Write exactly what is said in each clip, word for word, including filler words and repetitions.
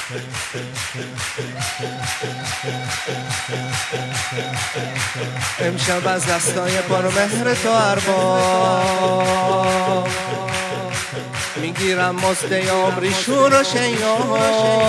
امشب از دستای پرمهر تو ارباب میگیرم مزد عمری شور و شیاب.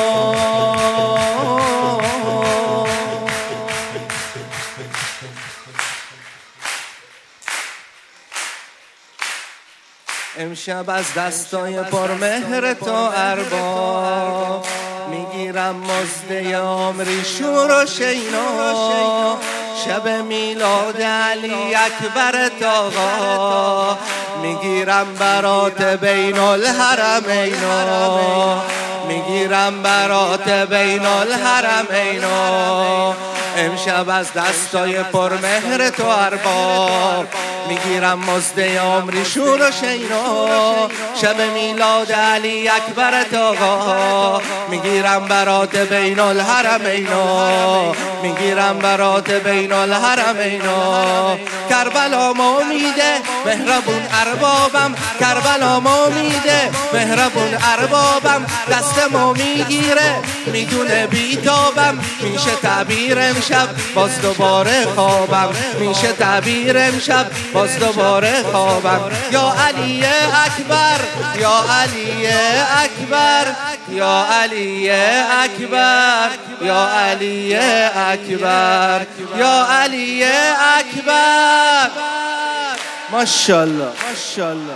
امشب از دستای پرمهر تو ارباب میگیرم مزد عمری شور و شینا. شب میلاد علی اکبر آقا میگیرم برات بین الحرمینا. میگیرم برات بین الحرمینا. امشب از دستای پرمهر تو ارباب میگیرم مزد عمری شور و شینا. شب میلاد علی اکبر آقا میگیرم برات بین الحرمینا. میگیرم برات بین الحرمینا. کربلا امیده مهربون اربابم، کربلا امیده مهربون اربابم. دستمو میگیره میدونه بیتابم، میشه تعبیر امشب باز دوباره خوابم. میشه تعبیر امشب باز دوباره خوابم. یا علی اکبر، یا علی اکبر، یا علی اکبر، یا علی اکبر، یا علی اکبر. ماشاءالله ماشاءالله.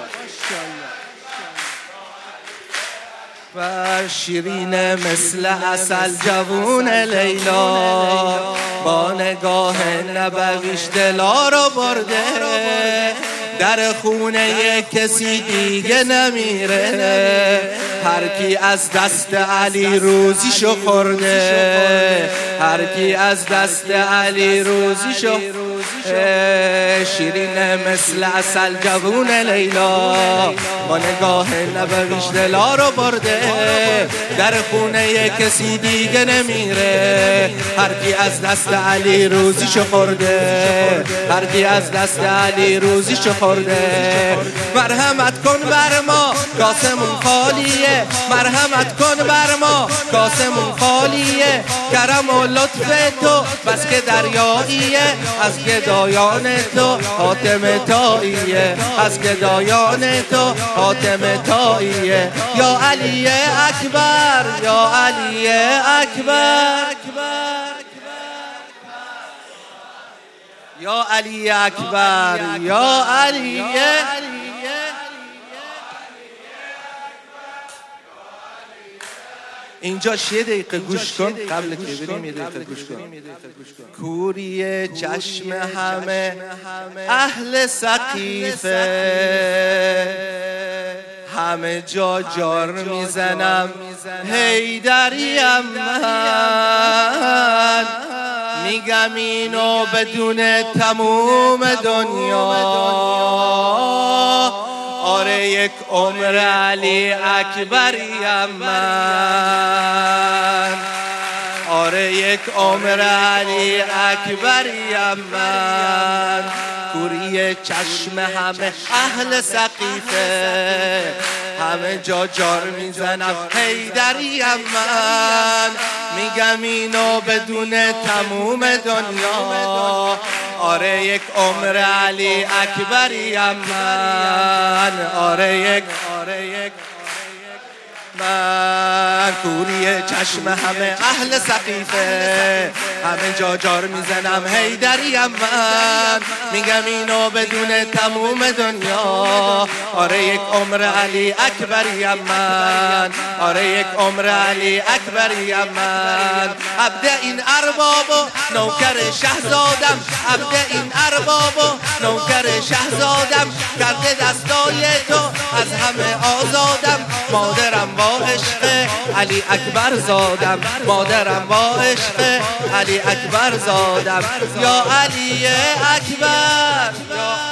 و شیرین مثل عسل جوون لیلا با نگاه نبویش دلا رو برده. در خونه کسی دیگه نمیره، هر کی از دست علی روزیشو خورده. هر کی از دست علی روزیشو شیرین مثل عسل جوون لیلا با نگاه نبویش دلا رو برده. در خونه کسی دیگه نمیره، هر کی از دست علی روزیشو خورده. هر کی از دست علی روزیشو خورده. مرحمت کن بر ما کاسمون خالیه، مرحمت کن بر ما کاسمون خالیه. کرم و لطف تو بس که دریاییه، از گدایان تو حاتم تاییه. از گدایان تو حاتم تاییه. یا علی اکبر، یا علی اکبر، یا علی اکبر، یا علی. اینجا یه دقیقه گوش کن قبل که بریم. یه دقیقه گوش کن. کوری چشم همه اهل سقیفه، همه جا جار میزنم حیدریم من. میگم اینو بدون تموم دنیا. آره یک عمر علی اکبریم من. آره یک عمر علی اکبریم من. کوری چشم همه اهل سقیفه، همه جا جار میزنم حیدریم من. میگم اینو بدون تموم دنیا. آره یک عمر علی اکبریم من. آره یک آره یک من. کوری چشم همه اهل سقیفه، همه جا جار میزنم حیدریم من. میگم اینو بدون تموم دنیا. آره یک عمر علی اکبریم من. آره یک عمر علی اکبریم من. عبد این ارباب و نوکر شهزادم، عبد این ارباب و نوکر شهزادم. کرده دستای تو از همه آزادم. مادرم با عشق علی اکبر زادم، مادرم با عشق علی اکبر زادم. یا علی اکبر، یا